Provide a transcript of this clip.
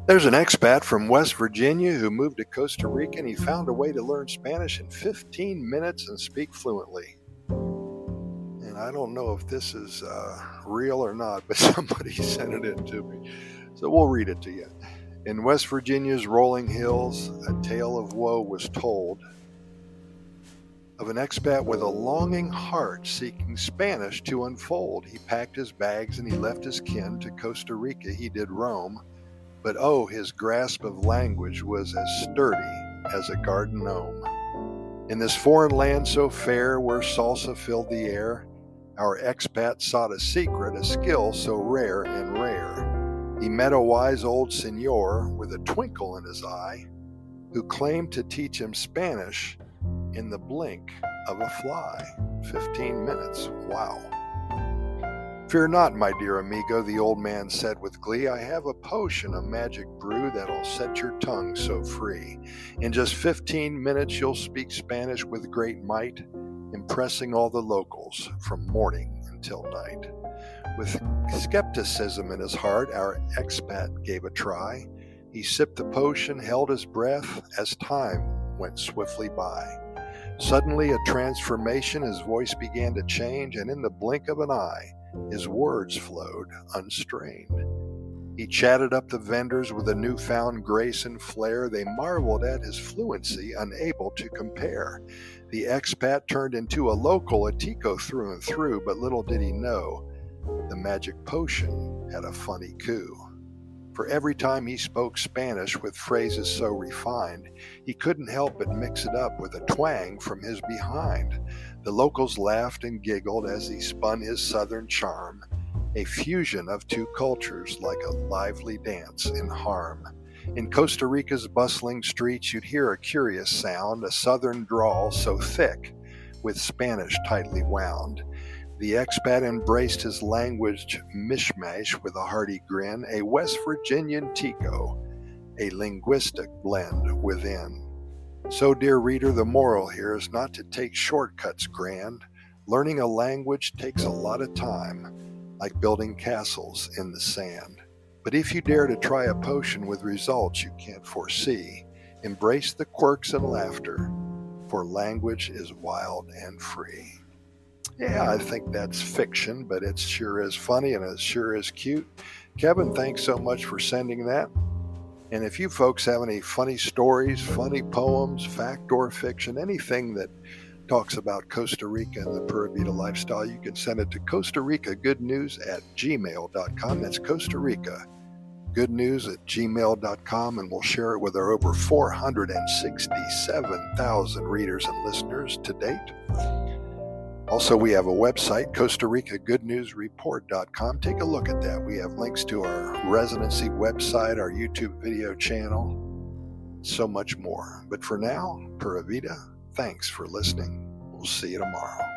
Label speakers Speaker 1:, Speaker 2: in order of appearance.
Speaker 1: There's an expat from West Virginia who moved to Costa Rica, and he found a way to learn Spanish in 15 minutes and speak fluently. And I don't know if this is real or not, but somebody sent it in to me. So we'll read it to you. In West Virginia's rolling hills, a tale of woe was told of an expat with a longing heart seeking Spanish to unfold. He packed his bags and he left his kin. To Costa Rica he did roam. But oh, his grasp of language was as sturdy as a garden gnome. In this foreign land so fair, where salsa filled the air, our expat sought a secret, a skill so rare and rare. He met a wise old senor with a twinkle in his eye, who claimed to teach him Spanish in the blink of a fly. 15 minutes. Wow. Fear not, my dear amigo, the old man said with glee. I have a potion, a magic brew that'll set your tongue so free. In just 15 minutes you'll speak Spanish with great might, impressing all the locals from morning until night. With skepticism in his heart, our expat gave a try. He sipped the potion, held his breath as time went swiftly by. Suddenly a transformation, his voice began to change, and in the blink of an eye, his words flowed unstrained. He chatted up the vendors with a newfound grace and flair. They marveled at his fluency, unable to compare. The expat turned into a local, a tico through and through, but little did he know the magic potion had a funny coup. For every time he spoke Spanish with phrases so refined, he couldn't help but mix it up with a twang from his behind. The locals laughed and giggled as he spun his southern charm, a fusion of two cultures like a lively dance in harm. In Costa Rica's bustling streets, you'd hear a curious sound, a southern drawl so thick, with Spanish tightly wound. The expat embraced his language mishmash with a hearty grin, a West Virginian tico, a linguistic blend within. So, dear reader, the moral here is not to take shortcuts grand. Learning a language takes a lot of time, like building castles in the sand. But if you dare to try a potion with results you can't foresee, embrace the quirks and laughter, for language is wild and free. Yeah, I think that's fiction, but it sure is funny and it sure is cute. Kevin, thanks so much for sending that. And if you folks have any funny stories, funny poems, fact or fiction, anything that talks about Costa Rica and the Pura Vida lifestyle, you can send it to Costa Rica Good News at gmail.com. That's Costa Rica Good News at gmail.com, and we'll share it with our over 467,000 readers and listeners to date. Also, we have a website, Costa Rica Good News Report.com. Take a look at that. We have links to our residency website, our YouTube video channel, so much more. But for now, Pura Vida, thanks for listening. We'll see you tomorrow.